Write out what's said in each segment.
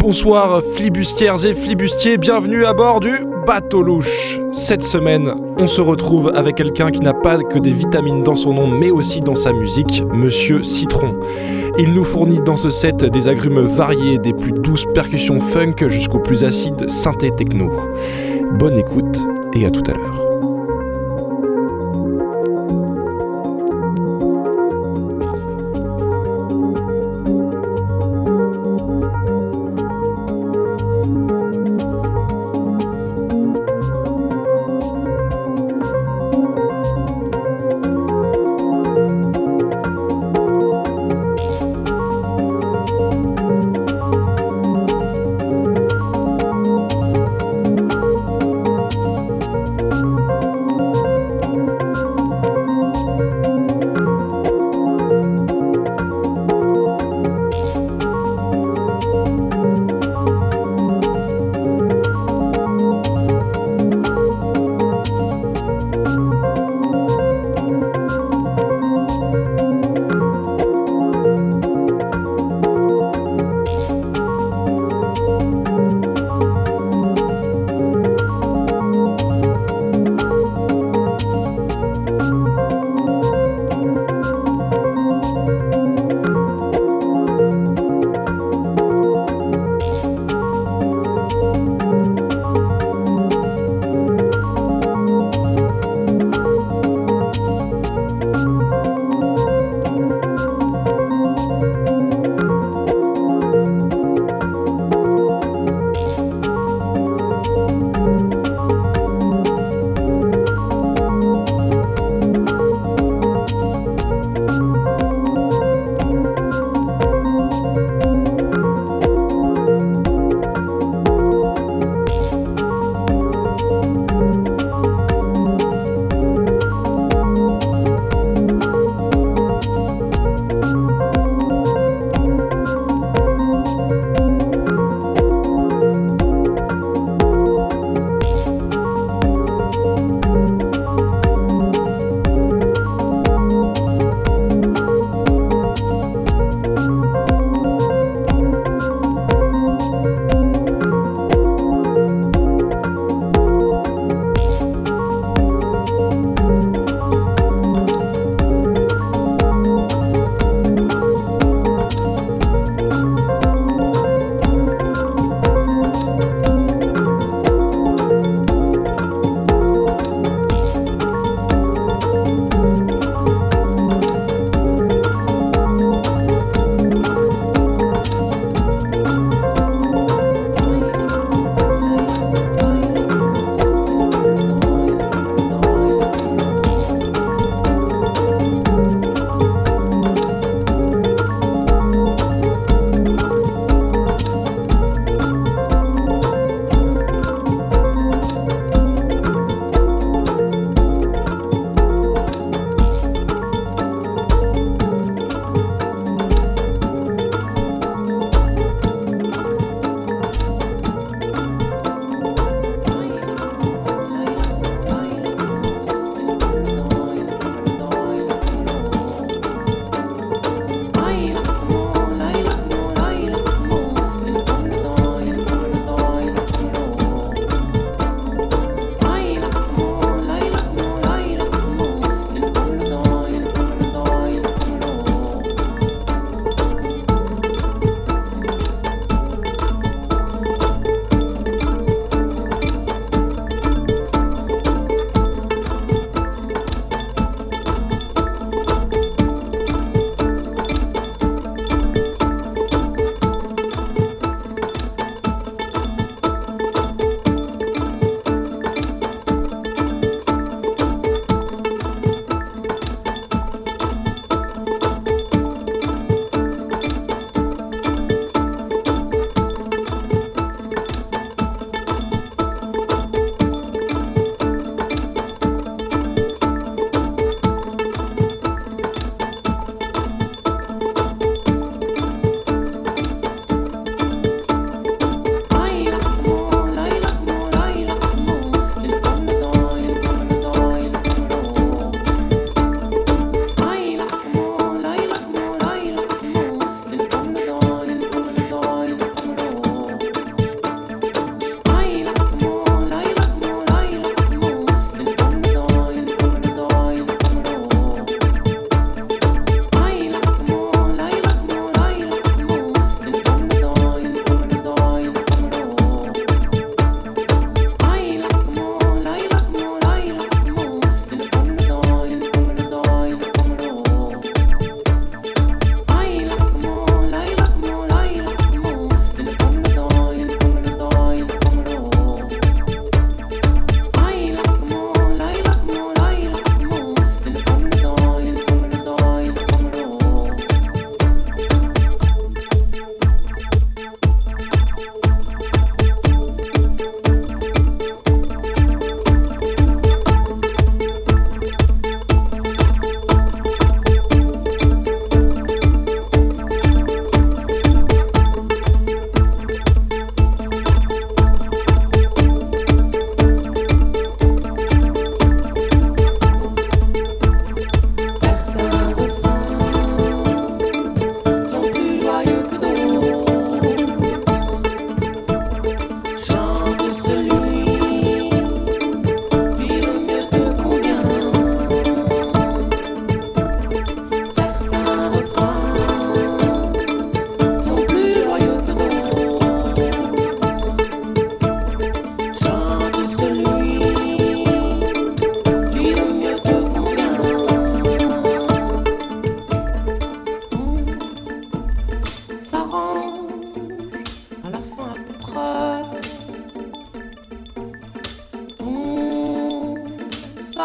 Bonsoir flibustières et flibustiers, bienvenue à bord du Bateau Louche. Cette semaine, on se retrouve avec quelqu'un qui n'a pas que des vitamines dans son nom, mais aussi dans sa musique, Monsieur Citron. Il nous fournit dans ce set des agrumes variés, des plus douces percussions funk jusqu'aux plus acides synthé techno. Bonne écoute et à tout à l'heure.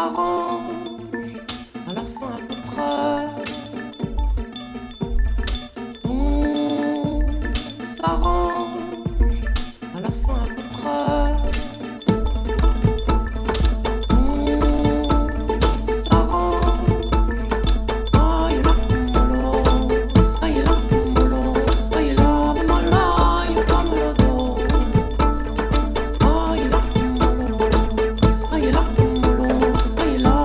I love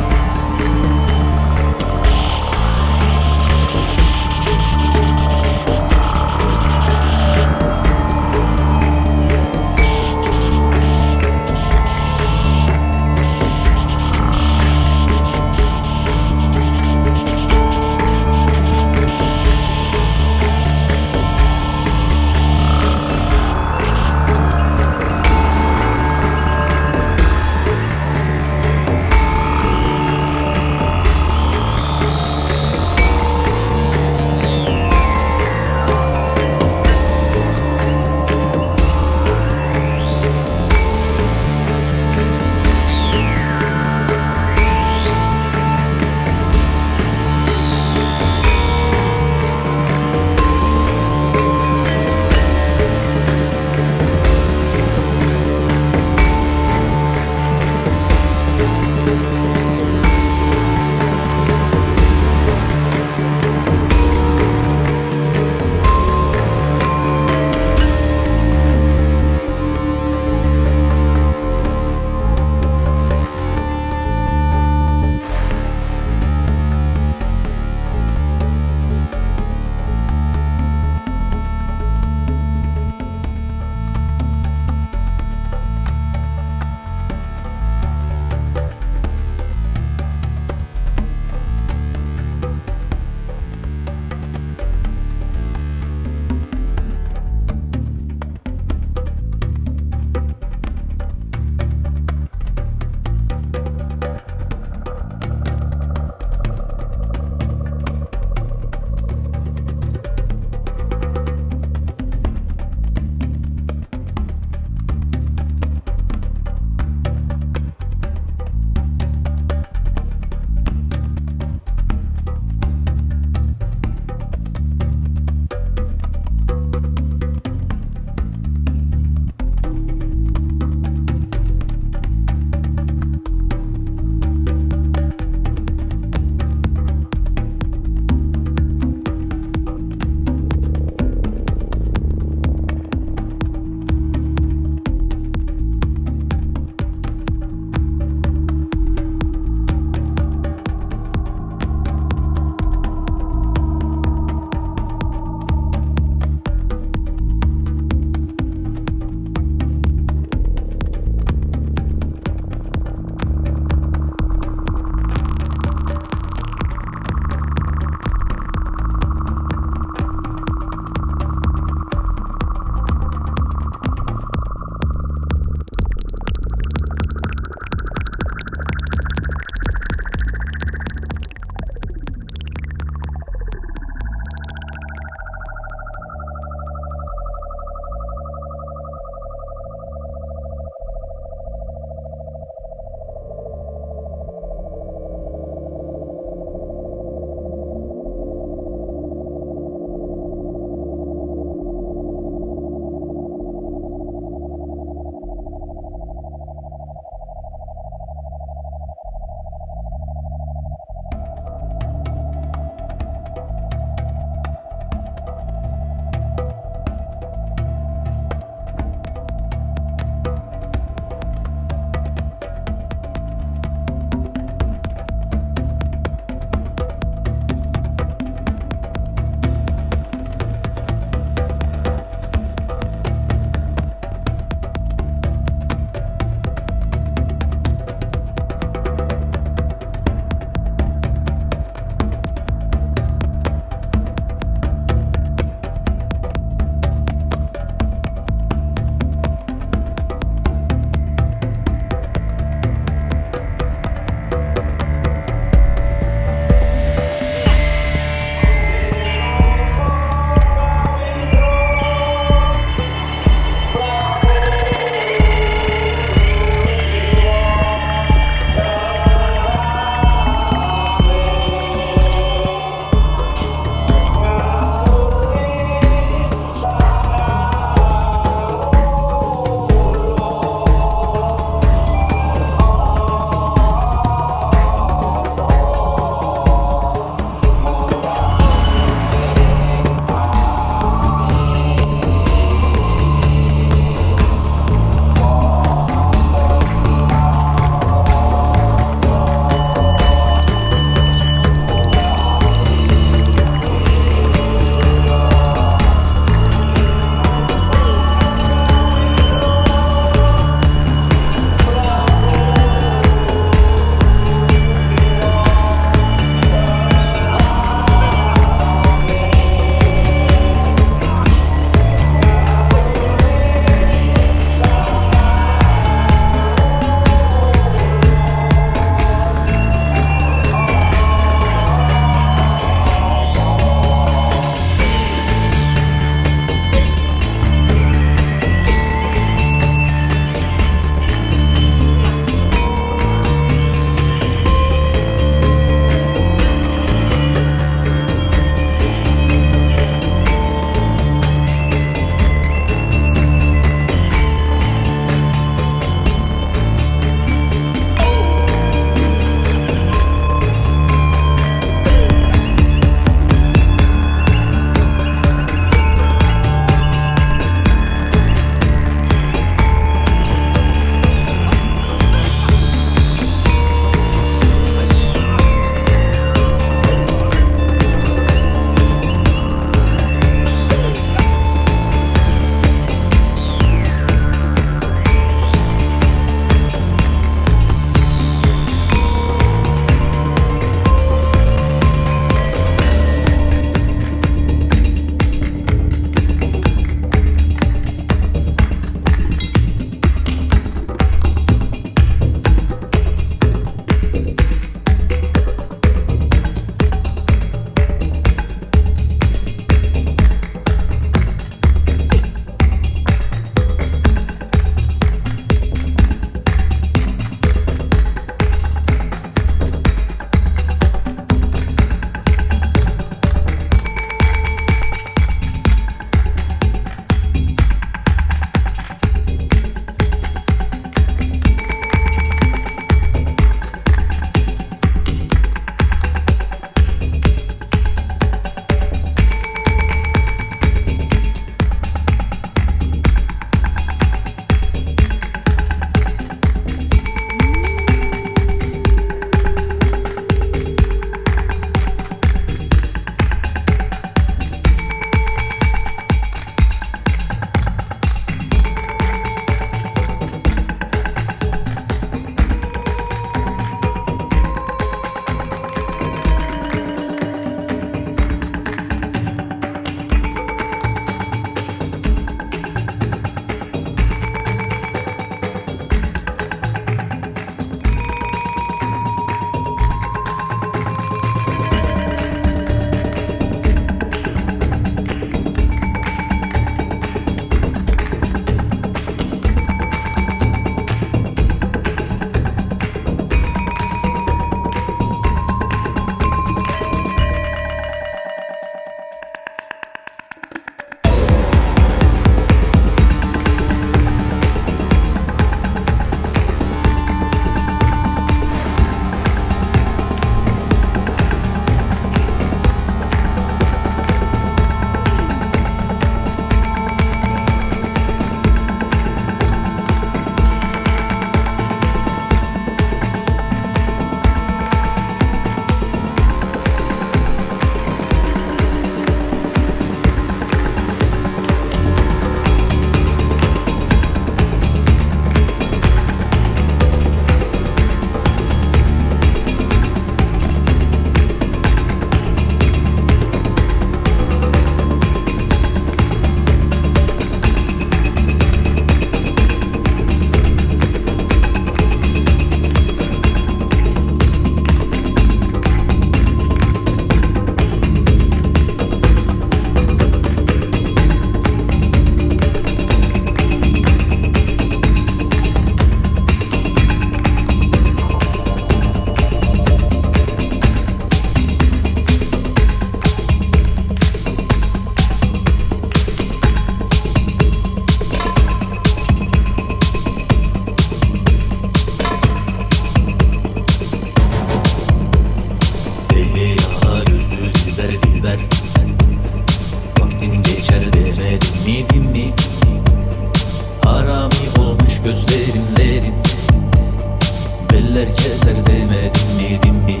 keser demedim mi dimmi.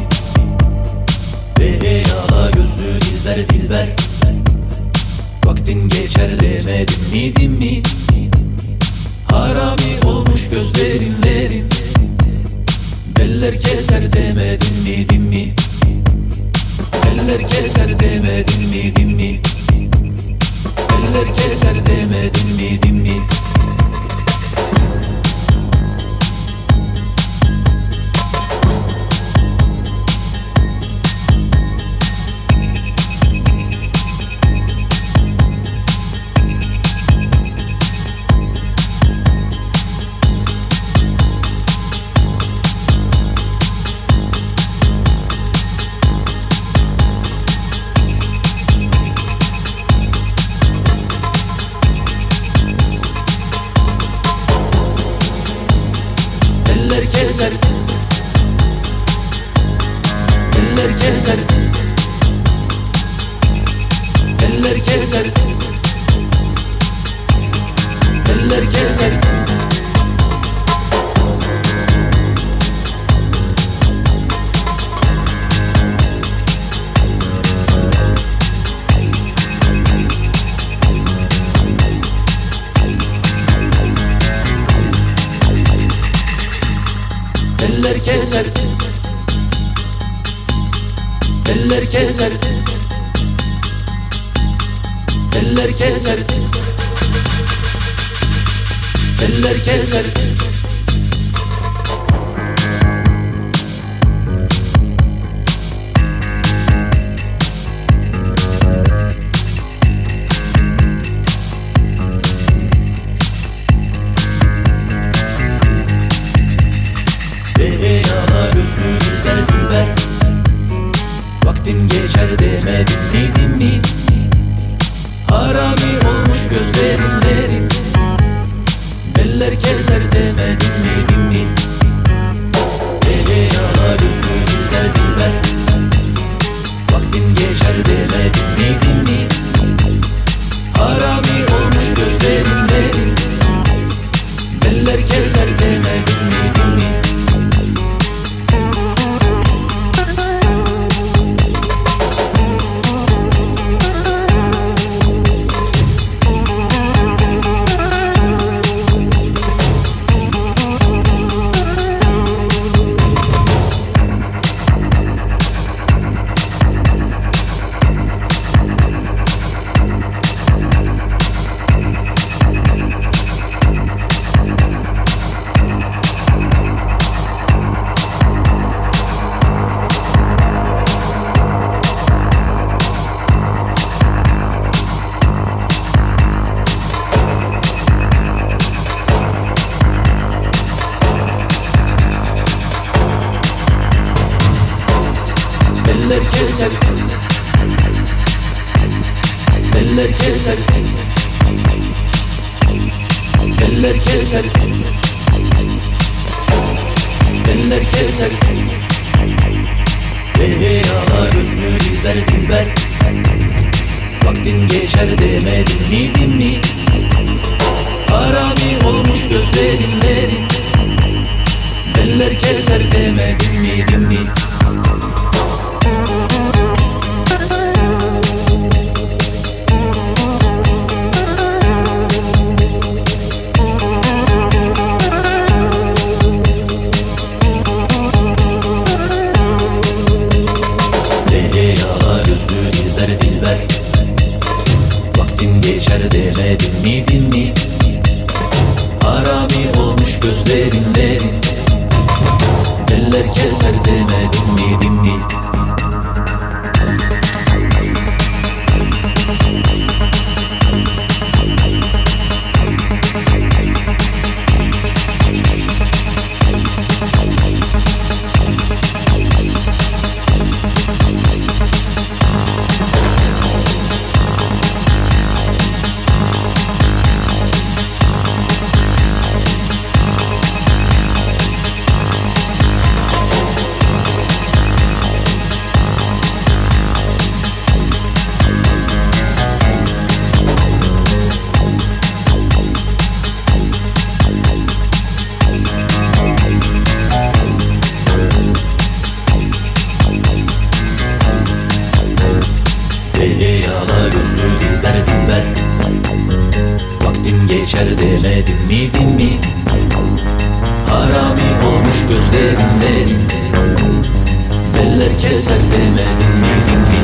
Ve yala gözlü dilber dilber, vaktin geçer demedim mi dimmi. Harami olmuş gözlerimlerin, beller keser demedim mi dimmi. Beller keser demedim mi dimmi. Beller keser demedim mi dimmi. Keser, eller keser, eller keser, eller keser. Eller keser, eller keser, eller keser, eller keser. Vaktin geçer demedim mi dimmi. Harami olmuş gözlerimlerin, beller keser demedim mi dimmi. Yala gözlü dilber dilber, vaktin geçer demedim mi dimmi. Harami olmuş gözlerimlerin, beller keser demedim mi dimmi. Beller keser, beller keser, beller keser, beller keser. Yala gözlü dilber dilber, vaktin geçer demedim mi dimmi. Harami olmuş gözlerimlerin, beller keser demedim mi dimmi. Yala gözlü dilber dilber, vaktin geçer demedim geçer demedim mi dinmi? Harami olmuş gözlerin, beller keser demedim mi dinmi?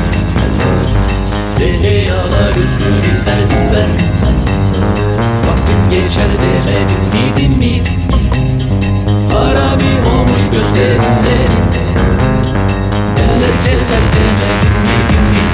Yala gözlü dilber dilber, vaktin geçer demedim mi dinmi? Harami olmuş gözlerin, beller keser demedim mi dinmi?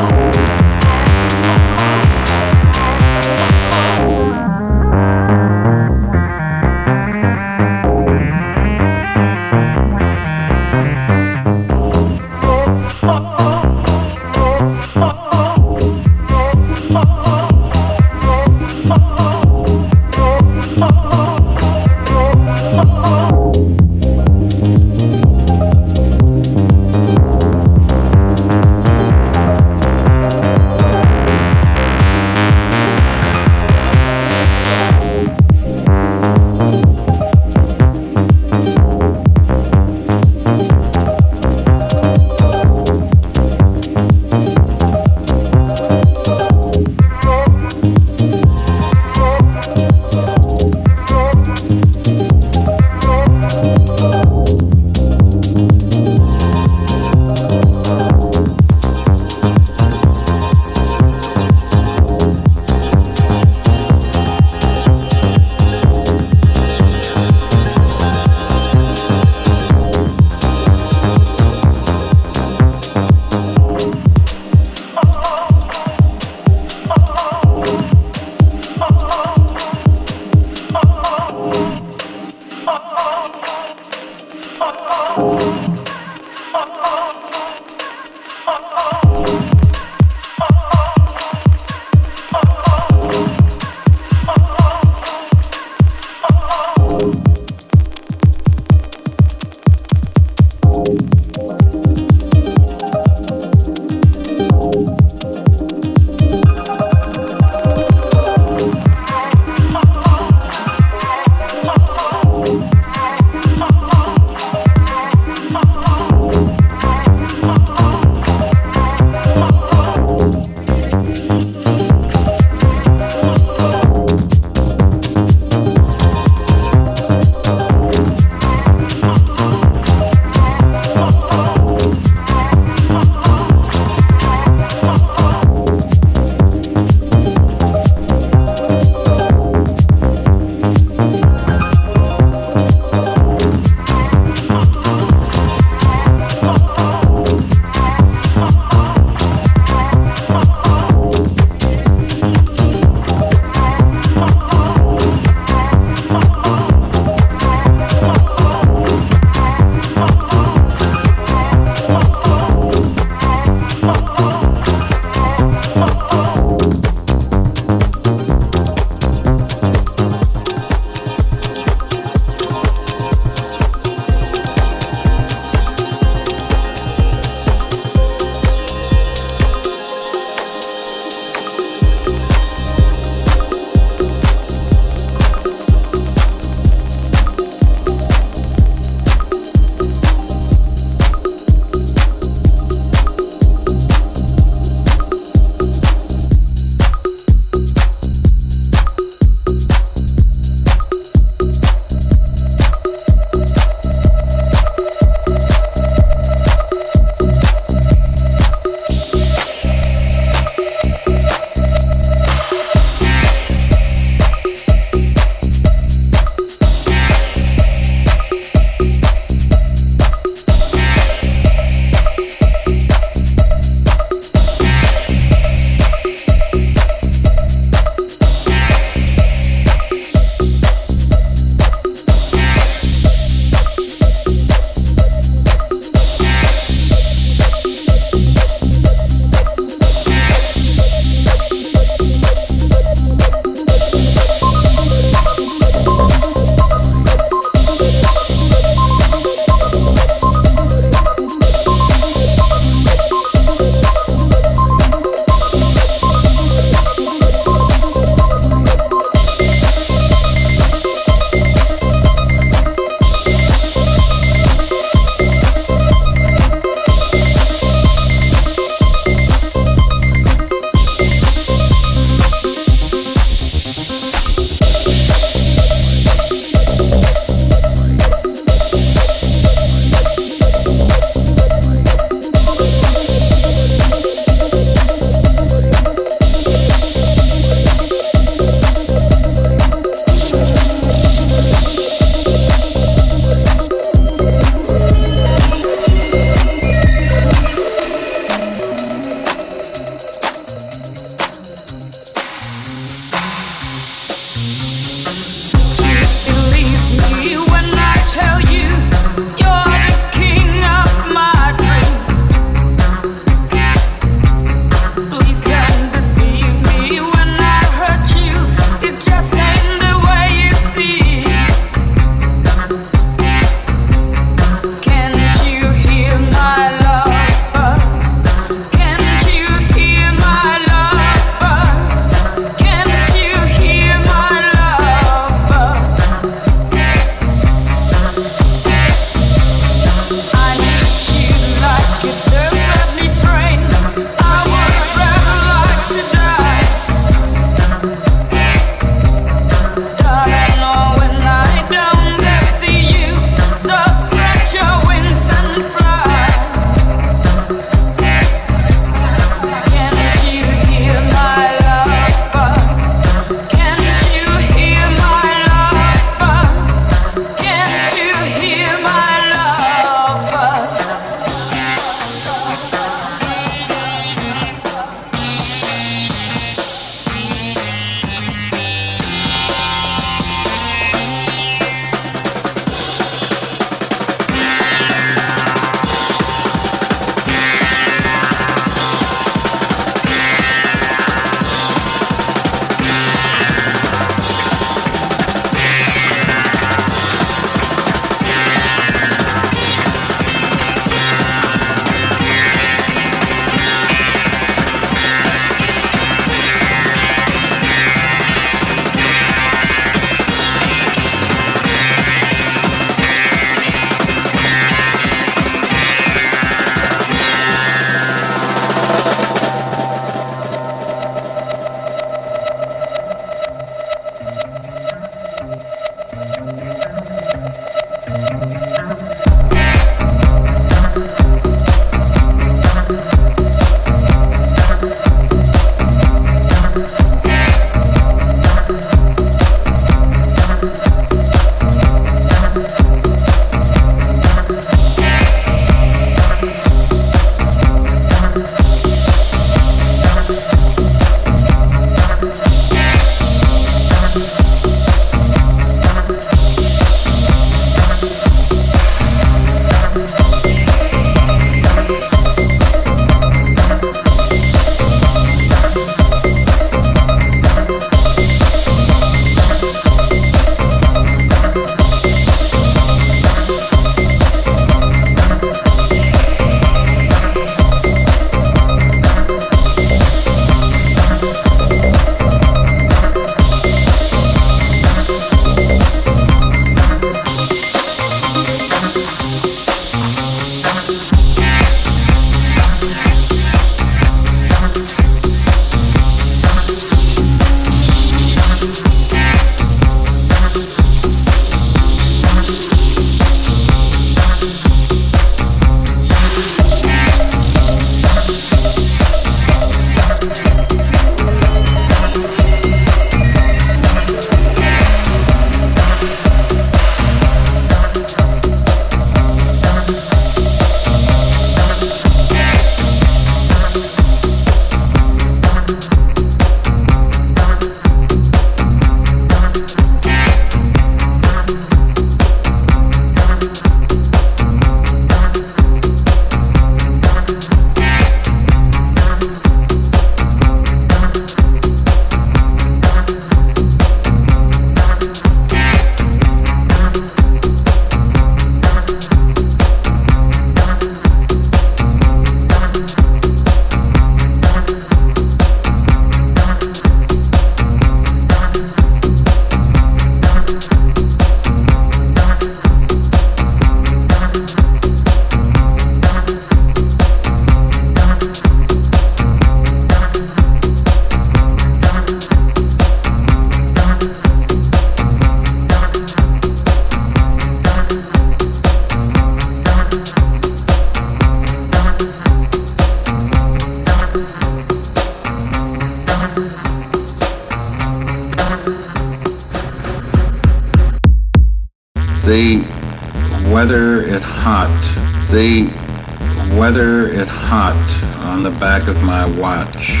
The weather is hot. The weather is hot on the back of my watch.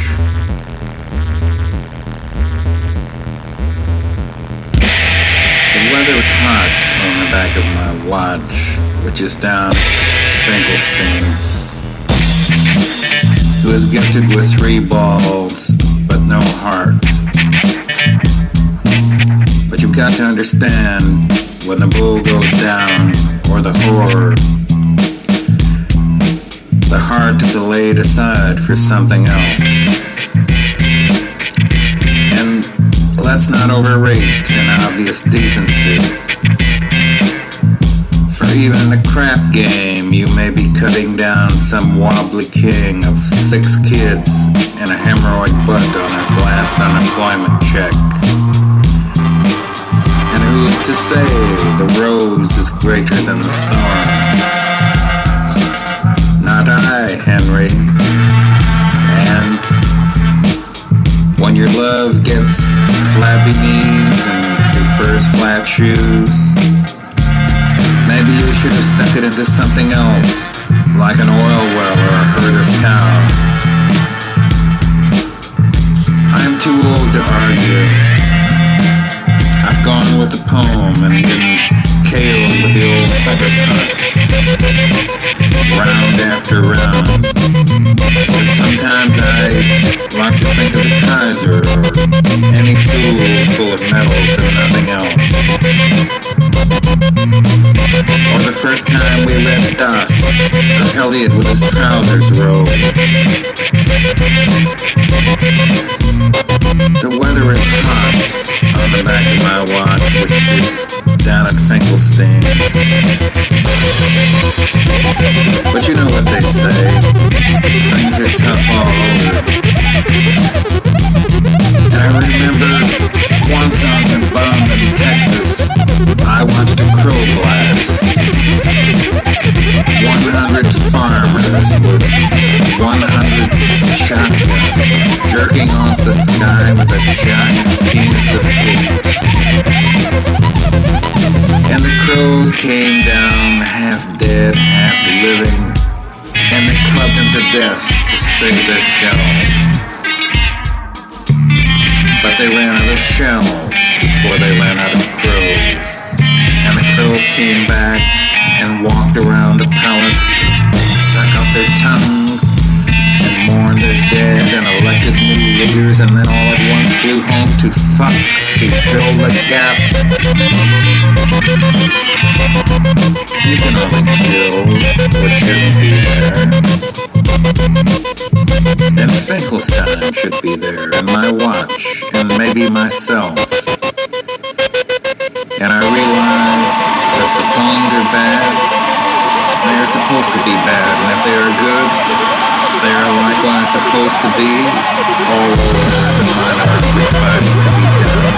The weather is hot on the back of my watch, which is down Finkelstein's, who is gifted with 3 balls, but no heart. But you've got to understand, when the bull goes down, or the whore, the heart is laid aside for something else. And let's not overrate an obvious decency. For even in a crap game, you may be cutting down some wobbly king of 6 kids and a hemorrhoid butt on his last unemployment check. And who's to say the rose is greater than the thorn? Not I, Henry. And when your love gets flabby knees and prefers flat shoes, maybe you should have stuck it into something else, like an oil well or a herd of cows. I'm too old to argue. I've gone with the poem and been KO'd with the old sucker punch, round after round. But sometimes I like to think of the Kaiser or any fool full of medals and nothing else. Or the first time we read Das, of Eliot with his trousers rolled. The weather is hot on the back of my watch, which is down at Finkelstein's. But you know what they say, things are tough all over. And I remember once on the bum in Texas, I watched a crow blast. 100 farmers with 100 shotguns jerking off the sky with a giant penis of hate. And the crows came down half dead, half living, and they clubbed them to death to save their shells. But they ran out of shells before they ran out of crows. And the crows came back and walked around the pallets, stuck out their tongues, and mourned their dead and elected new leaders, and then all at once flew home to fuck, to fill the gap. You can only kill what shouldn't be there. And Finkelstein should be there, and my watch, and maybe myself. And I realize that if the poems are bad, they are supposed to be bad, and if they are good, they are likewise supposed to be, or as a minor refining to be done.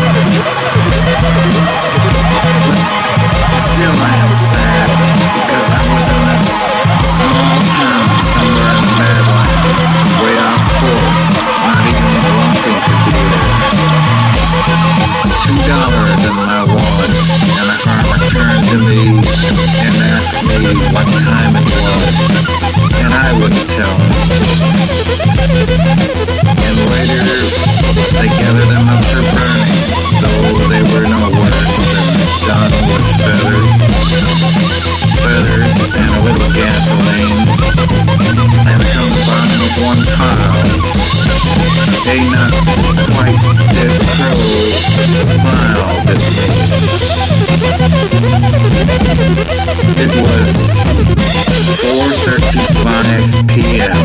But still I am sad, because I was in this small town somewhere in the Badlands, way off course, not even wanting to be there. $2 in my wallet, and a farmer turned to me and asked me what time it was, and I wouldn't tell him. And later, they gathered them up for burning, though they were no worse than done with feathers and a little gasoline, and combined with one pile. A not quite dead crow smiled at me. It was 4:35 p.m.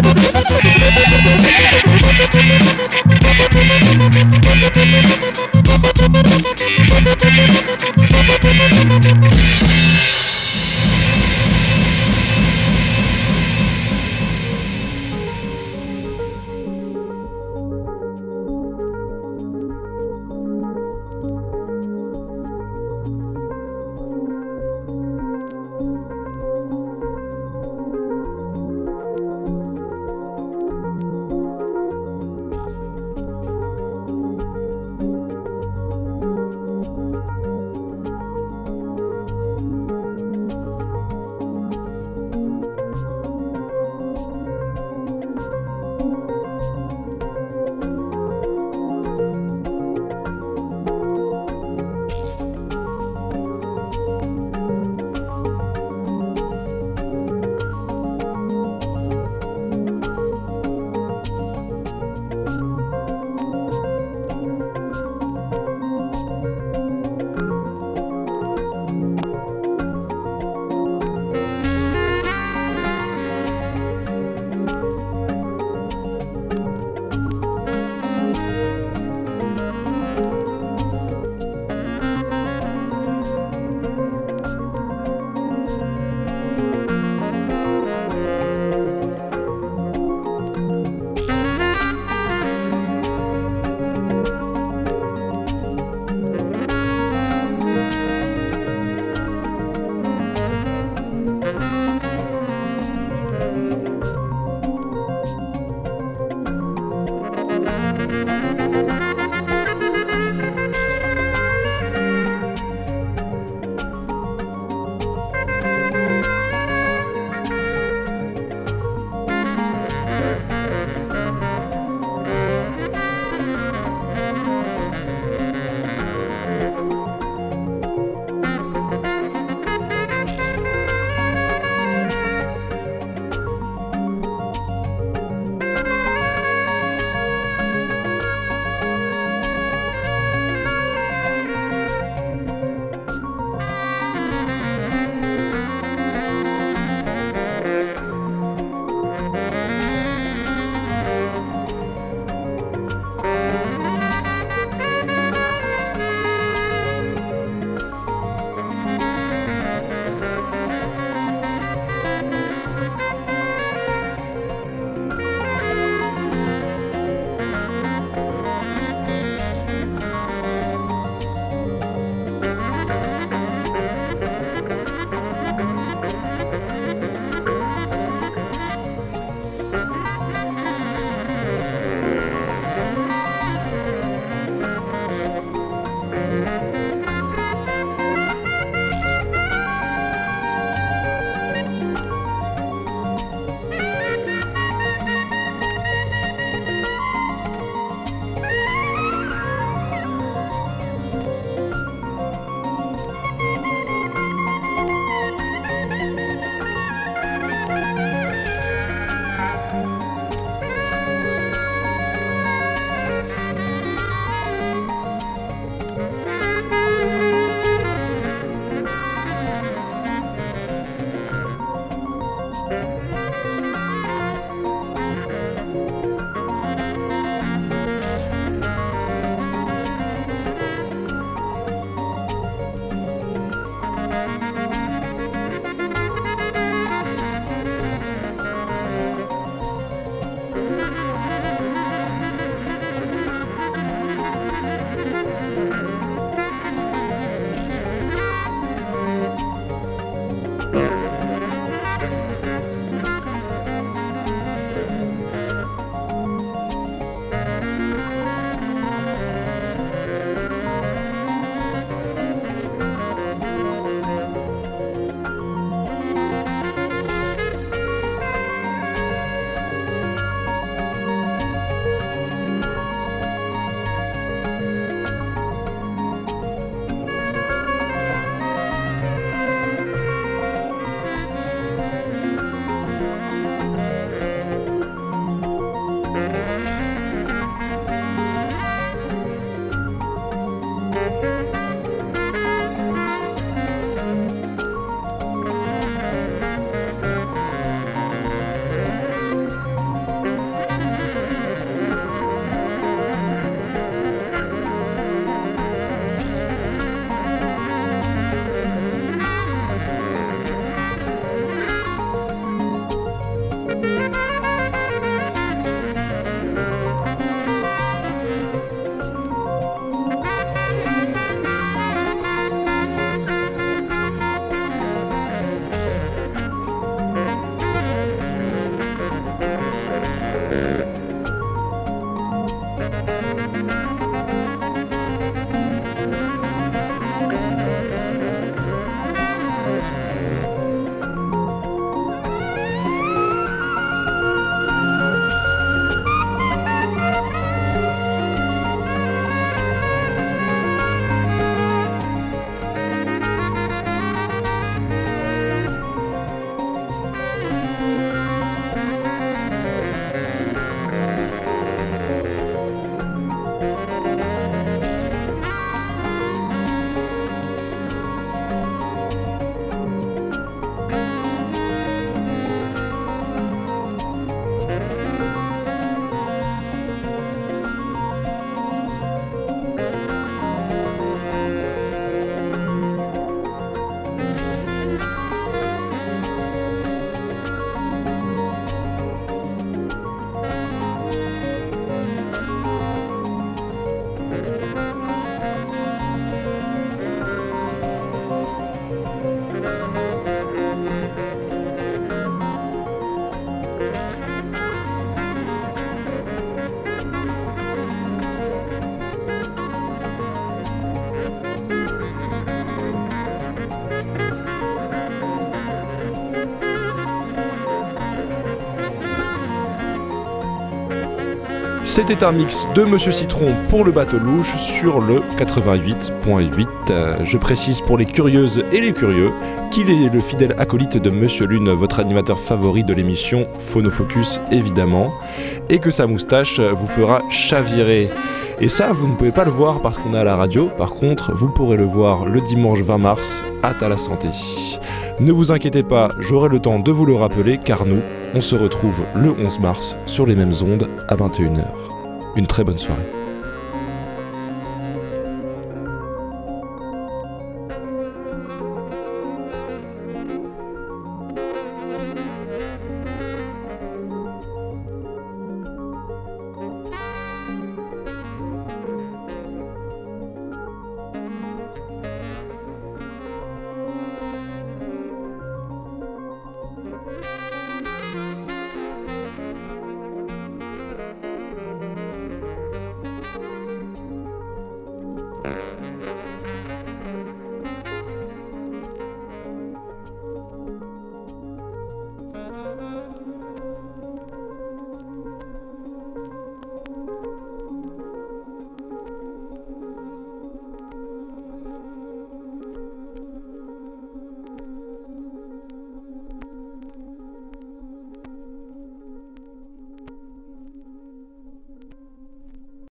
C'était un mix de Monsieur Citron pour le bateau louche sur le 88.8. Je précise pour les curieuses et les curieux qu'il est le fidèle acolyte de Monsieur Lune, votre animateur favori de l'émission Phonofocus évidemment, et que sa moustache vous fera chavirer. Et ça, vous ne pouvez pas le voir parce qu'on est à la radio. Par contre, vous pourrez le voir le dimanche 20 mars à Ta la Santé. Ne vous inquiétez pas, j'aurai le temps de vous le rappeler car nous, on se retrouve le 11 mars sur les mêmes ondes à 21h. Une très bonne soirée.